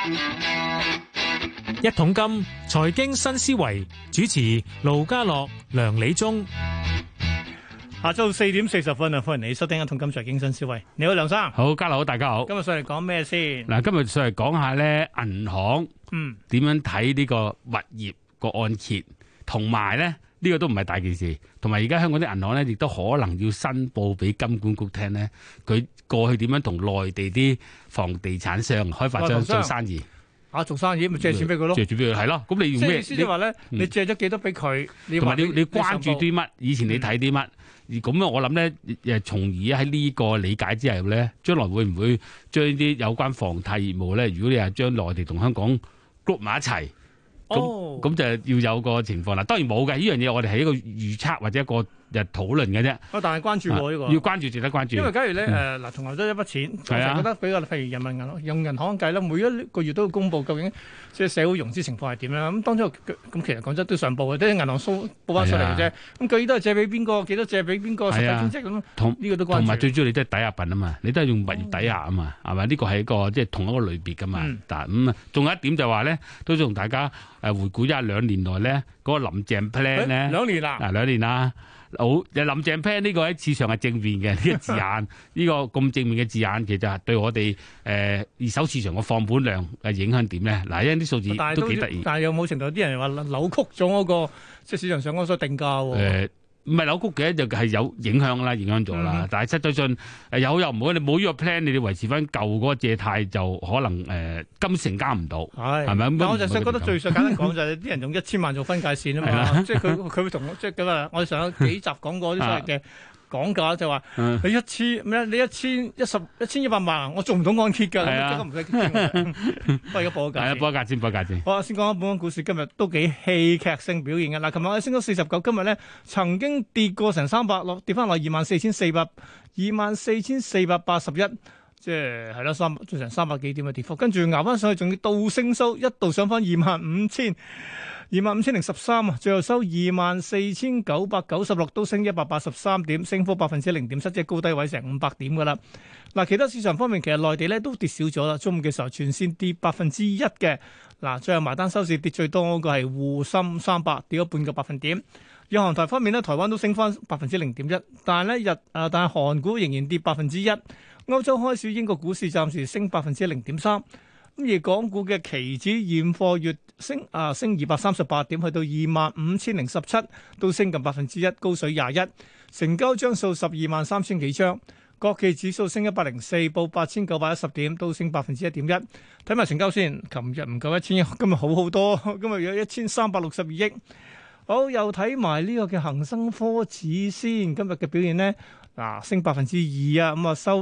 一桶金財經新思維主持盧家樂、梁理中。 下晝4:40啊，歡迎你收聽一桶金財經新思維。你好，梁生。 好，家樂好，大家好。 今日上嚟講咩先？ 嗱，今日上嚟講下咧，銀行點樣睇呢個物業個按揭，同埋咧呢個都唔係大件事，同埋而家香港啲銀行咧亦都可能要申報俾金管局聽咧，佢過去點樣同內地啲房地產商、開發商做生意。 做生意咪借錢俾佢咯， 借錢俾佢係咯。咁你要咩？ 即係話咧，你借咗幾多俾佢？ 同埋你關注啲乜？以前你睇啲乜？而咁我諗咧，從而喺呢個理解之後咧，將來會唔會將啲有關房貸業務咧？如果你係將內地同香港 group 埋一齊，咁就要有個情況啦。當然冇嘅，呢樣嘢我哋係一個預測或者一個討論嘅啫。 但係關注喎呢個， 要關注，值得關注。 因為假如咧嗱，同樣都一筆錢，我就覺得比較譬如人民銀行用銀行計啦，每一個月都要公佈究竟即係社會融資情況係點樣。咁當中咁其實講真都上報嘅，啲銀行報翻出嚟嘅啫。咁佢都係借俾邊個，幾多借俾邊個，實際面積咁。呢個都關注。同埋最主要你都係抵押品啊嘛，你都係用物業抵押啊嘛，係咪？呢個係一個即係同一個類別噶嘛。但咁仲有一點就話咧，都同大家回顧一下2年內咧嗰個林鄭 plan 咧。2年啦，2年啦。好，林鄭 plan 呢個喺市場係正面嘅呢個字眼，呢個咁正面嘅字眼，其實係對我哋二手市場嘅放盤量嘅影響點咧？嗱，因為啲數字都幾得意。但係有冇程度啲人話扭曲咗嗰個即係市場上嗰個定價喎？唔係扭曲嘅，就係有影響啦，影響咗啦。但係實際上有好有唔好，你冇呢個 plan，你哋維持翻舊嗰個借貸就可能金成交唔到，係咪？但我就想覺得最簡單講就係啲人用1000萬做分界線啊嘛，即係佢會同即係咁啊！我哋上幾集講過啲所謂嘅講價就話你1100萬，我做唔到按揭㗎，咁即刻唔使傾。不過而家報個價， 報個價先。 好，先講下本港股市今日都幾戲劇性表現嘅。嗱，琴日我哋升咗49，今日咧曾經跌過成300，跌翻落24,481，即係係啦，做成300幾點嘅跌幅，跟住熬翻上去，仲要倒升收，一度上翻25,013啊，最後收24,996，都升183點，升幅0.7%，即係高低位成500點噶啦。嗱，其他市場方面，其實內地咧都跌少咗啦，中午嘅時候全線跌1%嘅。嗱，最後埋單收市跌最多嗰個係滬深300，跌咗半個百分點。日韓台方面咧，台灣都升翻0.1%，但係咧但係韓股仍然跌1%。歐洲開市，英國股市暫時升0.3%。咁而港股嘅期指現貨月升238點，去到25,017，都升近1%，高水21，成交張數123000幾張。國企指數升104，報8910點，都升1.1%。睇埋成交先，琴日唔夠1000億，今日好多，今日有1362億。好，又睇埋呢個嘅恒生科指先，今日嘅表現呢？升2%啊，咁啊收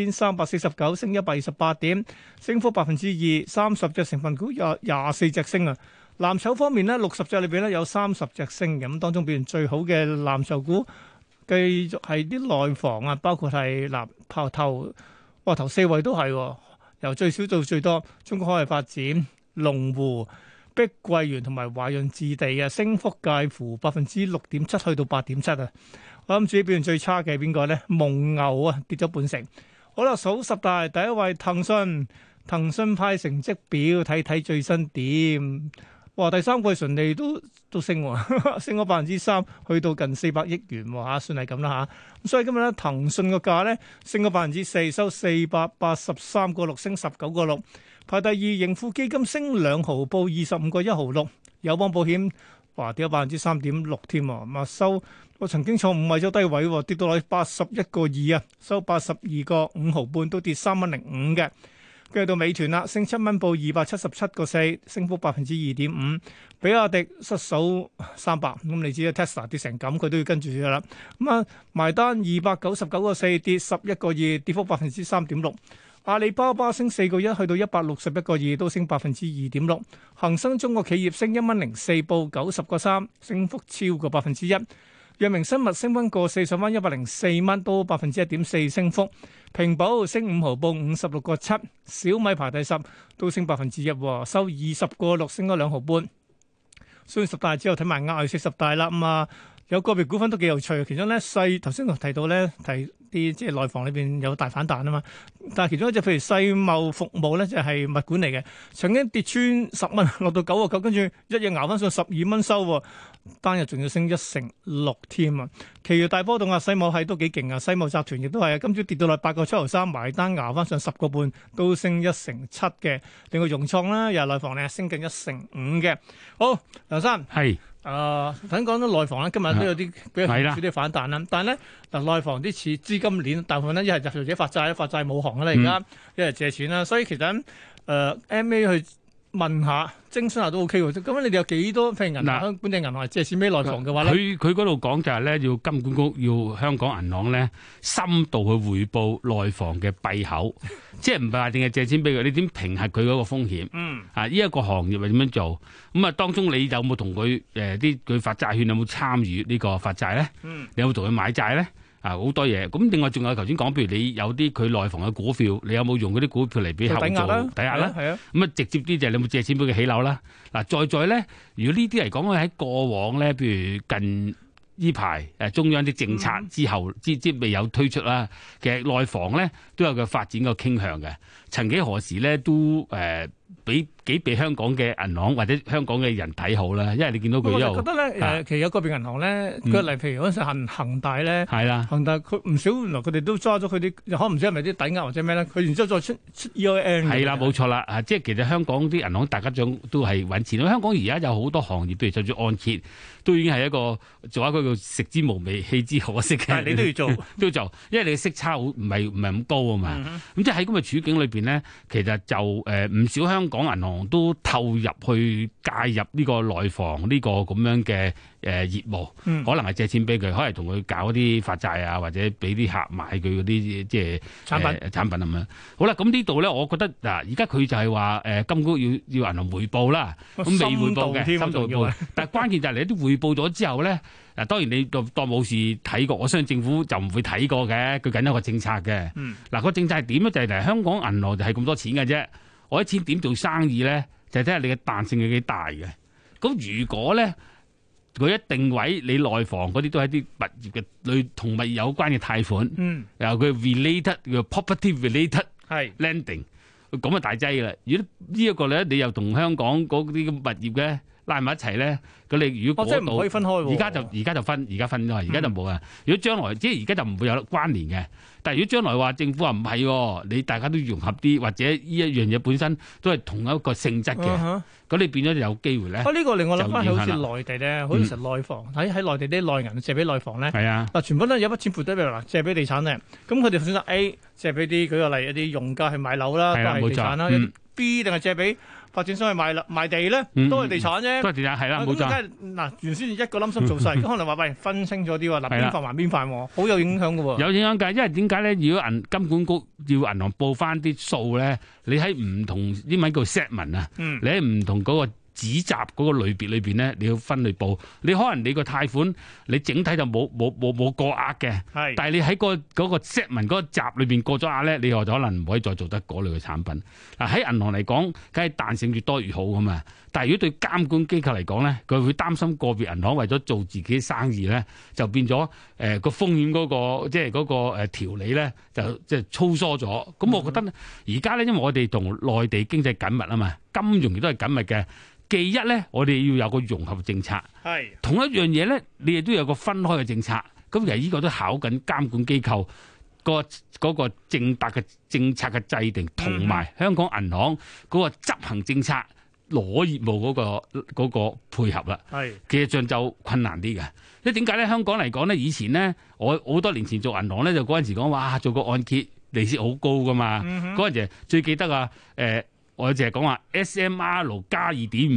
6349，升128點，升幅2%。30隻成分股有24隻升啊。藍籌方面呢，60隻裏邊咧有30隻升嘅，咁當中表現最好嘅藍籌股，繼續係啲內房啊，包括係頭4位都係，由最少到最多，中國海外發展、龍湖、碧桂園同埋華潤置地啊，升幅介乎6.7%去到8.7%啊。我諗自己表現最差嘅係邊個咧？蒙牛啊，跌咗半成。好啦，數10大第一位騰訊派成績表，睇最新點。哇，第三季純利都升喎，升咗3%，去到近400億元喎嚇，算係咁啦嚇。咁所以今日咧，騰訊個價咧升咗4%，收483.6，升19.6。排第二，盈富基金升2毫，報25.166。友邦保險跌咗3.6%添喎，咁啊收。我曾經坐5位咗低位，跌到落去81.2啊，收82.5毫半，都跌3.05嘅。跟住到美團啦，升7蚊，報277.4，升幅2.5%。比亞迪失守300，咁你知啦 ，Tesla 跌成咁，佢都要跟住噶啦。咁啊，埋單299.4，跌11.2，跌幅3.6%。阿里巴巴升4.1，去到161.2，都升2.6%。恒生中國企業升1蚊04，報90.3，升幅超過1%。藥明生物升翻1.4，上翻104蚊，都1.4%升幅。平保升5毫，報56.7。小米排第10，都升1%，收20.6，升咗2毫半。所以10大之後睇埋額外40大啦，咁啊有個別股份都幾有趣，其中咧頭先提到咧啲即係內房裏邊有大反彈啊嘛。但係其中一隻譬如世貿服務咧就係物管嚟嘅，曾經跌穿10蚊，落到9.9，跟住一日熬翻上12蚊收喎，單日仲要升1成6添啊！其餘大波動啊，世貿係都幾勁啊，世貿集團亦都係啊，今朝跌到落8.793，埋單熬翻上10個半，都升1成7嘅。另外融創啦，又係內房咧，升近1成5嘅。好，梁生係。 頭先講到內房咧，今日都有啲比較少啲反彈啦。但係咧，嗱內房啲似資金鏈，大部分咧一係就自己發債，發債冇行啦而家，一係借錢啦。所以其實MA 去問下、徵詢下都 OK 喎。咁你哋有幾多譬如銀行、本地銀行借錢俾內房嘅話咧？ 佢嗰度講就係咧，要金管局要香港銀行咧深度去匯報內房嘅閉口，即係唔係話淨係借錢俾佢，你點評核佢嗰個風險？呢一個行業係點樣做？咁啊，當中你有冇同佢佢發債券有冇參與呢個發債咧？你有冇同佢買債咧？好多嘢。咁另外仲有頭先講，譬如你有啲佢內房嘅股票，你有冇用嗰啲股票嚟俾客戶做抵押啦？咁啊，直接啲就係你有冇借錢俾佢起樓啦？嗱，再咧，如果呢啲嚟講，喺過往咧，譬如近呢排中央啲政策之後，即未有推出啦，其實內房咧都有個發展個傾向嘅。曾幾何時咧都幾被香港嘅銀行或者香港嘅人睇好啦，因為你見到佢又我覺得咧其實有個別銀行咧，舉例譬如嗰陣時恒大咧， 係啦， 恒大佢唔少原來佢哋都揸咗佢啲，可能唔知係咪啲抵押或者咩咧，佢然之後再出 EIN 係啦，冇錯啦，即係其實香港啲銀行大家都係揾錢。香港而家有好多行業，譬如就算按揭，都已經係一個做一個叫食之無味，棄之可惜嘅。 但係你都要做， 都要做，因為你嘅息差唔係咁高啊嘛。咁即係喺咁嘅處境裏邊咧，其實就唔少香港銀行都透入去介入呢個內房呢個咁樣嘅業務，可能係借錢俾佢，可能同佢搞啲發債啊，或者俾啲客買佢嗰啲即係產品咁樣。好啦，咁呢度咧，我覺得嗱，而家佢就係話金管局要銀行回報啦，咁未回報嘅深度回報，但係關鍵就係你啲回報咗之後咧，嗱當然你當冇事睇過，我相信政府就唔會睇過嘅，佢緊有個政策嘅。嗱個政策係點咧？就係香港銀行就係咁多錢嘅啫，我啲錢點做生意咧？就睇下你嘅彈性係幾大嘅。咁如果咧，佢一定位你內房嗰啲都係啲物業嘅類同物業有關嘅貸款，由佢 related 叫 property related lending，咁啊大劑啦。如果呢一個咧，你又同香港嗰啲物業嘅拉埋一齊咧，咁你如果即係唔可以分開喎。而家就分咗，而家就冇啊。如果將來即係而家就唔會有關聯嘅。但係如果將來話政府話唔係，你大家都融合啲，或者呢一樣嘢本身都係同一個性質嘅，咁你變咗就有機會咧。 呢個令我諗翻起好似內地咧，好似成內房喺內地啲內銀借俾內房咧，嗱全部都有筆錢撥低俾嗱借俾地產咧，咁佢哋選擇 A 借俾啲舉個例一啲用家去買樓啦，都係地產啦；B 定係借俾發展商去賣地咧，都係地產啫。都係地產係啦，冇錯。嗱原先一個冧心做晒，可能話喂分清咗啲喎，嗱邊範還邊範，好有影響嘅喎。 有影響㗎，因為點解咧？如果金管局要銀行報翻啲數咧，你喺唔同英文叫 segment 啊，你喺唔同嗰個指集嗰個類別裏邊咧，你要分類報。你可能你個貸款你整體就冇過額嘅，但係你喺嗰個 segment 嗰個集裏邊過咗額咧，你又就可能唔可以再做得嗰類嘅產品。嗱喺銀行嚟講，梗係彈性越多越好噶嘛。但係如果對監管機構嚟講咧，佢會擔心個別銀行為咗做自己生意咧，就變咗個風險嗰個即係嗰個條理咧，就即係粗疏咗。咁我覺得而家咧，因為我哋同內地經濟緊密啊嘛，金融亦都係緊密嘅。其一咧，我哋要有個融合政策，同一樣嘢咧，你亦都有個分開嘅政策。咁其實呢個都考緊監管機構嗰個正達嘅政策嘅制定，同埋香港銀行嗰個執行政策攞業務嗰個配合啦。其實上就困難啲嘅。因為點解咧？香港嚟講咧，以前咧，我好多年前做銀行咧，就嗰陣時講哇，做個按揭利息好高噶嘛。嗰陣時最記得啊，我淨係講話 SMR 加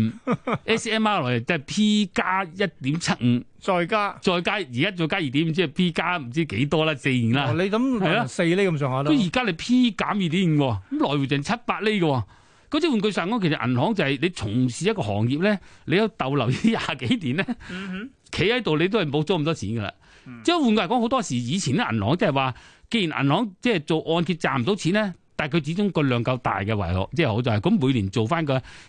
2.5，SMR 即係 P 加 1.75， 再加，而家再加 2.5， 即係 P 加唔知幾多啦，4啦。你咁係啦，4厘咁上下啦。咁而家你 P 減 2.5， 咁來回淨7-8厘嘅。嗰啲換句上講，其實銀行就係你從事一個行業咧，你有逗留20幾年咧，企喺度你都係冇咗咁多錢噶啦。即係換句嚟講，好多時以前啲銀行即係話，既然銀行即係做按揭賺唔到錢咧。但係佢始終個量夠大嘅為樂，即係好就係咁每年做翻個你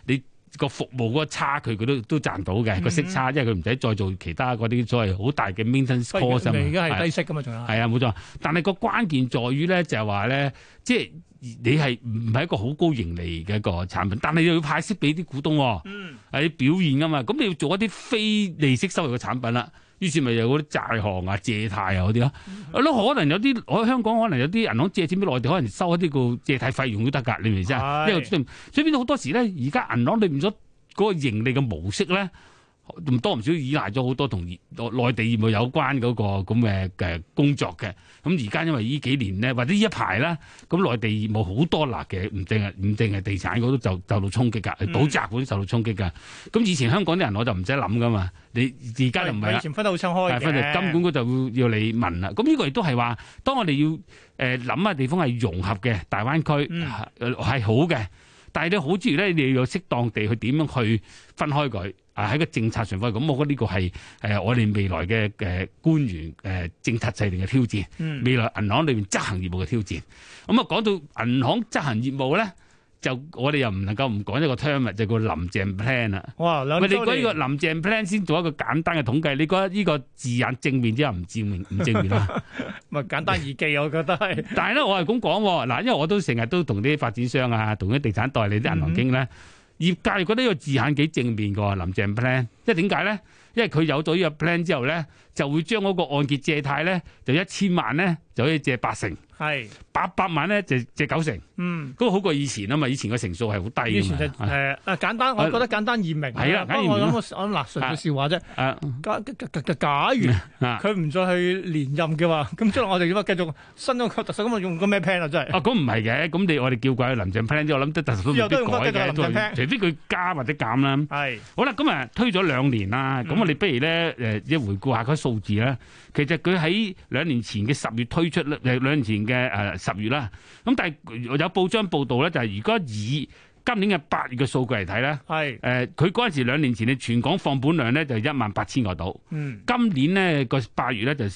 個服務嗰個差距佢都賺到嘅個息差，因為佢唔使再做其他嗰啲所謂好大嘅 maintenance cost 啊嘛。 而家係低息噶嘛，仲有係啊，冇錯。但係個關鍵在於咧，就係話咧，即係你係唔係一個好高盈利嘅一個產品，但係又要派息俾啲股東，係表現噶嘛。咁你要做一啲非利息收入嘅產品啦。於是咪有嗰啲債項啊、借貸啊嗰啲咯，可能有啲我香港可能有啲銀行借錢俾內地，可能收一啲個借貸費用都得㗎，你明唔明先？因為所以變到好多時咧，而家銀行裏面咗嗰個盈利嘅模式咧，唔多唔少依賴咗好多同內地業務有關嗰個咁嘅工作嘅。咁而家因為呢幾年咧，或者呢一排啦，咁內地業務好多辣嘅，唔淨係地產嗰度就受到衝擊㗎，補習嗰啲受到衝擊㗎。咁以前香港啲人我就唔使諗㗎嘛，你而家就唔係啦。以前分得好清開嘅， 分就金管局就要你問啦。咁呢個亦都係話，當我哋要諗下地方係融合嘅大灣區係好嘅，但係你好之餘咧，你要有適當地去點樣去分開佢。喺個政策上方，咁我覺得呢個係我哋未來嘅官員政策制定嘅挑戰，未來銀行裏面執行業務嘅挑戰。咁啊講到銀行執行業務咧，就我哋又唔能夠唔講一個 term 就叫林鄭 plan 啦。 哇！ 你講呢個林鄭 plan 先做一個簡單嘅統計，你覺得呢個字眼正面之後唔正面啊？ 咪簡單易記，我覺得係。 但係咧，我係咁講嗱，因為我都成日都同啲發展商啊，同啲地產代理啲銀行經咧。業界覺得呢個字眼幾正面㗎，林鄭 plan， 因為點解咧？因為佢有咗呢個 plan 之後咧，就會將嗰個按揭借貸咧，就1000萬咧就可以借80%，係800萬咧就借90%，嗰個好過以前啊嘛，以前個成數係好低㗎嘛。以前就簡單，我覺得簡單易明。係啦，不過我諗嗱純粹笑話啫。假如佢唔再去連任嘅話，咁將來我哋點啊？繼續新嗰個特首咁啊，用個咩 plan 啊？真係咁唔係嘅，咁我哋叫怪林鄭 plan 之後，我諗得特首都未必改嘅，除非佢加或者減啦。係好啦，咁啊推咗2年啦，咁我哋不如咧一回顧下嗰數字啦。其實佢喺2年前嘅10月推出咧，2年前嘅10月啦。咁但係有報章報道咧，就係如果以今年嘅8月嘅數據嚟睇咧，係佢嗰陣時2年前嘅全港放盤量咧就18000個度，今年咧個8月咧就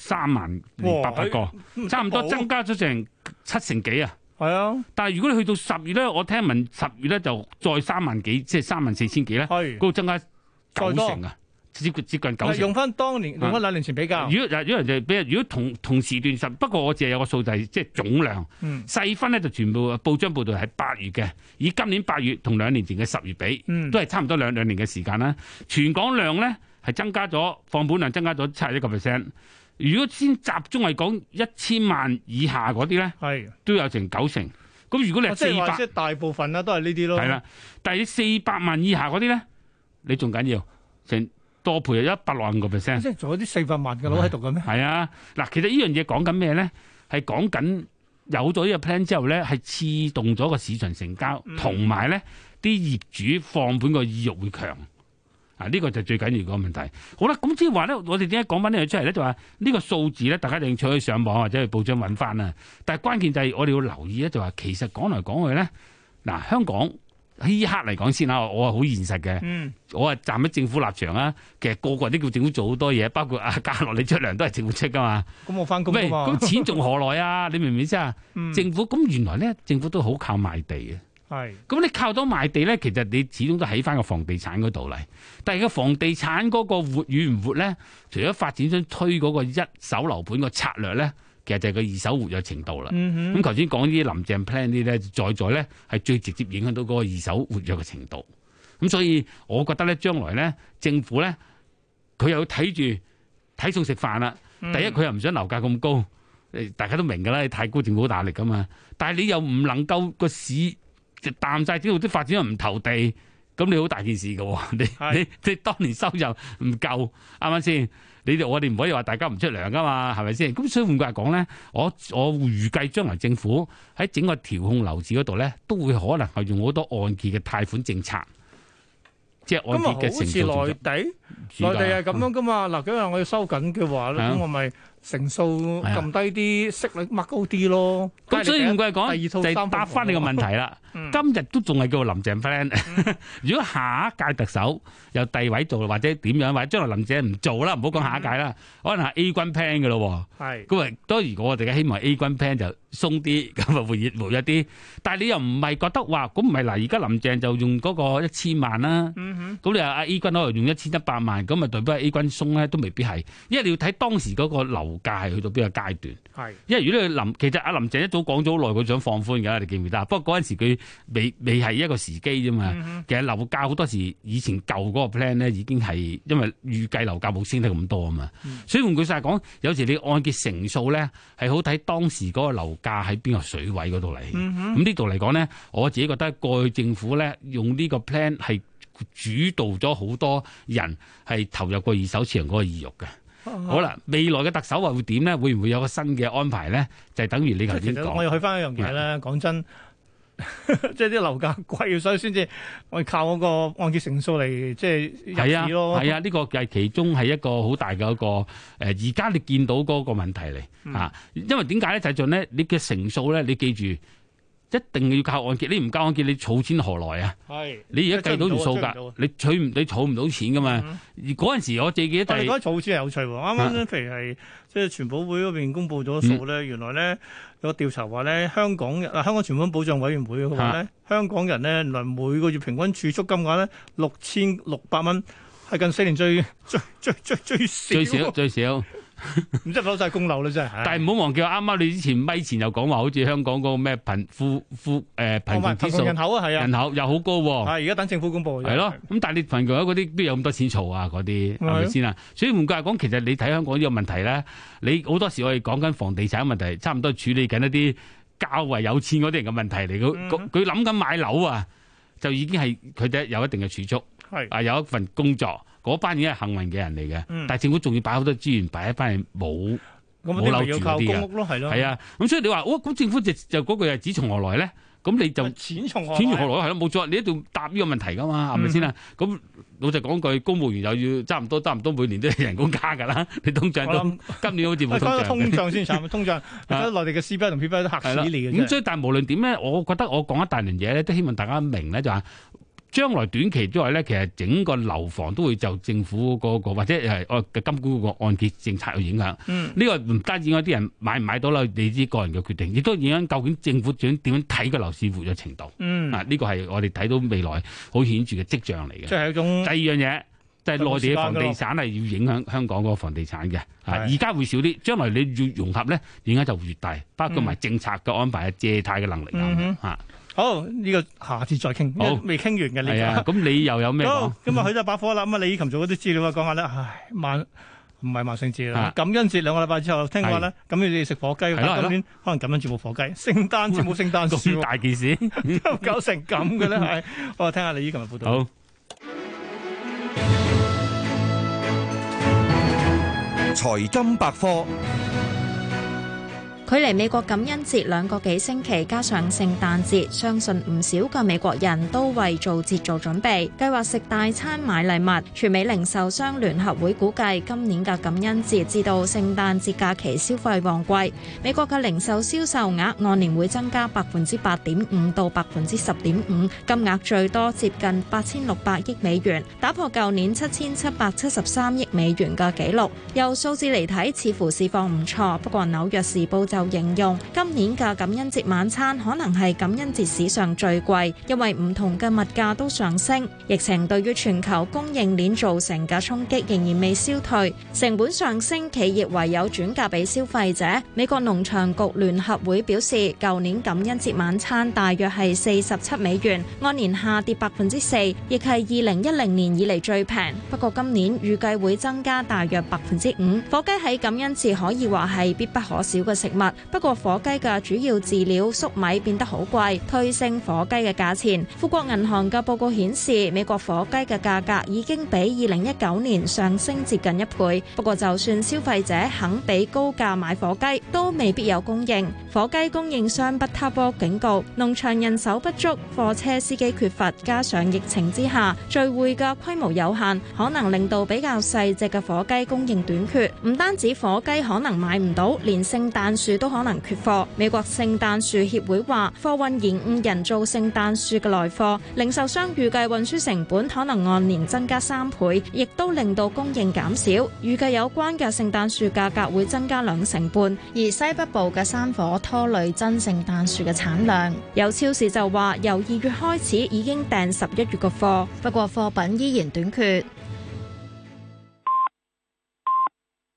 30800個，差唔多增加咗成7成幾啊！係啊，但係如果你去到10月咧，我聽聞10月咧就再3萬幾，即係34000幾咧，嗰個增加9成啊！接近9成。用翻當年，用翻2年前比較。如果同時段不過我淨係有個數字，即係總量。細分咧就全部報章報道係8月嘅，以今年8月同2年前嘅10月比，都係差唔多兩年嘅時間啦。全港量咧係增加咗，放盤量增加咗71%。如果先集中係講1000萬以下嗰啲咧，係都有成9成。咁如果你係400，即係大部分啦都係呢啲咯。係啦，但係400萬以下嗰啲咧，你仲緊要成多倍160%，即係仲有啲400萬嘅佬喺度嘅咩？係啊，嗱，其實呢樣嘢講緊咩咧？係講緊有咗呢個 plan 之後咧，係刺動咗個市場成交，同埋咧啲業主放盤個意欲會強。啊，呢個就最緊要個問題。好啦，咁即係話咧，我哋點解講翻呢樣出嚟咧？就話呢個數字咧，大家一定可以上網或者去報章揾翻啦。但係關鍵就係我哋要留意咧，就話其實講嚟講去咧，嗱，香港。呢刻嚟講先啦，我係好現實嘅。我係站喺政府立場啊。其實個個人都叫政府做好多嘢，包括家樂你出糧都係政府出噶嘛。咁我翻工啊嘛。咁錢仲何來啊？你明唔明先啊？政府咁原來咧，政府都好靠賣地嘅。係。咁你靠到賣地咧，其實你始終都喺翻個房地產嗰度嚟。但係個房地產嗰個活與唔活咧，除咗發展商推嗰個一手樓盤個策略咧。其實就係個二手活躍程度啦。咁頭先講啲林鄭 plan 啲咧，在咧係最直接影響到嗰個二手活躍嘅程度。咁所以我覺得咧，將來咧政府咧，佢又睇住睇餸食飯啦。第一，佢又唔想樓價咁高，大家都明㗎啦，太高政府好大力㗎嘛。但係你又唔能夠個市就淡晒，之後啲發展又唔投地，咁你好大件事㗎喎。你當年收入唔夠，啱唔啱先？我哋唔可以話大家唔出糧噶嘛，係咪先？咁所以換句話講咧，我預計將來政府喺整個調控樓市嗰度咧，都會可能係用好多按揭嘅貸款政策，即係按揭嘅成數。咁好似內地， 暑假內地係咁樣噶嘛？嗱，今日我要收緊嘅話咧， 係啊咁我咪成數撳低啲，息率掹高啲咯。 咁所以唔怪講， 第二套就係答翻你個問題啦。今日都仲係叫林鄭 plan。如果下一屆特首由第位做，或者點樣，或者將來林鄭唔做啦，唔好講下一屆啦，可能係 A 軍 plan 嘅咯。 係咁啊，當然我哋嘅希望 A 軍 plan 就鬆啲，咁啊活躍啲。但係你又唔係覺得話，咁唔係嗱？而家林鄭就用嗰個1000萬啦。咁你話阿 A 軍可能用1100萬，咁啊代表 A 軍鬆咧都未必係，因為你要睇當時嗰個樓價係去到邊個階段。 係， 因為如果你其實阿林鄭一早講咗好耐，佢想放寬㗎，你記唔記得？不過嗰陣時佢未係一個時機啫嘛。其實樓價好多時以前舊嗰個 plan 咧已經係因為預計樓價冇升得咁多啊嘛。所以換句實講，有時你按揭成數咧係好睇當時嗰個樓價喺邊個水位嗰度嚟。咁呢度嚟講咧，我自己覺得過去政府咧用呢個 plan 係主導咗好多人係投入過二手市場嗰個意欲嘅。好啦，未來嘅特首話會點咧？會唔會有個新嘅安排咧？就係等於你頭先講。 我又去翻一樣嘢咧，講真，即係啲樓價貴，所以先至我哋靠嗰個按揭成數嚟即係入市咯。 係啊，呢個係其中係一個好大嘅一個而家你見到嗰個問題嚟嚇。因為點解咧？就係做咧，你嘅成數咧，你記住。一定要靠按揭，你唔靠按揭，你儲錢何來啊？係，你而家計到條數㗎，你儲唔到錢㗎嘛？而嗰陣時我自己就係講儲錢係有趣喎。啱啱譬如係即係存保會嗰邊公佈咗數咧，原來咧有個調查話咧，香港存款保障委員會嘅話咧，香港人咧原來每個月平均儲蓄金額咧6600蚊，係近4年最少。唔知攞晒供樓啦，真係。 但係唔好忘記，啱啱你之前咪前又講話，好似香港嗰個咩貧窮指數人口啊，係啊， 人口又好高喎。 而家等政府公佈。 係咯，咁但係你貧窮嗰啲邊有咁多錢儲啊？嗰啲係咪先啊？所以換句話講，其實你睇香港呢個問題咧，你好多時我哋講緊房地產問題，差唔多處理緊一啲較為有錢嗰啲人嘅問題嚟。佢諗緊買樓啊，就已經係佢哋有一定嘅儲蓄，係有一份工作。嗰班已經係幸運嘅人嚟嘅，但係政府仲要擺好多資源擺喺班係冇樓住嗰啲嘅，係啊，咁所以你話咁政府就嗰句係錢從何來咧？咁你就錢從何來係咯，冇錯，你一定要答呢個問題㗎嘛，係咪先啊？咁老實講句，公務員又要差唔多每年都有人工加㗎啦，你通脹都今年好似冇通脹。 通脹先慘，通脹而家內地嘅 CPI 同 PPI 都嚇死你嘅。 咁所以但係無論點咧，我覺得我講一大輪嘢咧，都希望大家明咧就話。將來短期之外咧，其實整個樓房都會就政府嗰個或者係嘅金管局個按揭政策有影響。呢個唔單止嗰啲人買唔買到啦，你啲個人嘅決定，亦都影響究竟政府點樣睇個樓市活躍程度。呢個係我哋睇到未來好顯著嘅跡象嚟嘅。 即係一種。第二樣嘢就係內地嘅房地產係要影響香港嗰個房地產嘅。而家會少啲，將來你要融合咧，影響就會越大，包括埋政策嘅安排、借貸嘅能力啊。 好，呢個下次再傾，未傾完嘅呢個。係啊，咁你又有咩講？ 咁啊，去咗把火啦。咁啊，李以琴做嗰啲資料啊，講下咧，唔係萬聖節啦，感恩節2個禮拜之後，聽話咧，咁你哋食火雞，但今年可能感恩節冇火雞，聖誕節冇聖誕樹， 咁大件事， 搞成咁嘅咧，係。我聽下李以琴嘅報道。 好。 財金百科。 距離美國感恩節2個幾星期，加上聖誕節，相信唔少嘅美國人都為做節做準備，計劃食大餐買禮物。全美零售商聯合會估計，今年嘅感恩節至到聖誕節假期消費旺季，美國嘅零售銷售額按年會增加8.5%到10.5%，金額最多接近8600億美元，打破舊年7773億美元嘅紀錄。由數字嚟睇，似乎市況唔錯，不過紐約時報就形容今年嘅感恩節晚餐可能係感恩節史上最貴，因為唔同嘅物價都上升。疫情對於全球供應鏈造成嘅衝擊仍然未消退，成本上升，企業唯有轉嫁俾消費者。美國農場局聯合會表示，舊年感恩節晚餐大約係47美元，按年下跌4%，亦係2010年以嚟最平。不過今年預計會增加大約5%。火雞喺感恩節可以話係必不可少嘅食物。 物。不過火雞嘅主要飼料粟米變得好貴，推升火雞嘅價錢。富國銀行嘅報告顯示，美國火雞嘅價格已經比2019年上升接近1倍。不過就算消費者肯俾高價買火雞，都未必有供應。火雞供應商Butterworth警告，農場人手不足，貨車司機缺乏，加上疫情之下聚會嘅規模有限，可能令到比較細隻嘅火雞供應短缺。唔單止火雞可能買唔到，連聖誕樹都可能缺貨。美國聖誕樹協會話，貨運延誤人造聖誕樹嘅來貨，零售商預計運輸成本可能按年增加3倍，亦都令到供應減少。預計有關嘅聖誕樹價格會增加2成半，而西北部嘅山火拖累真聖誕樹嘅產量。有超市就話，由2月開始已經訂11月嘅貨，不過貨品依然短缺。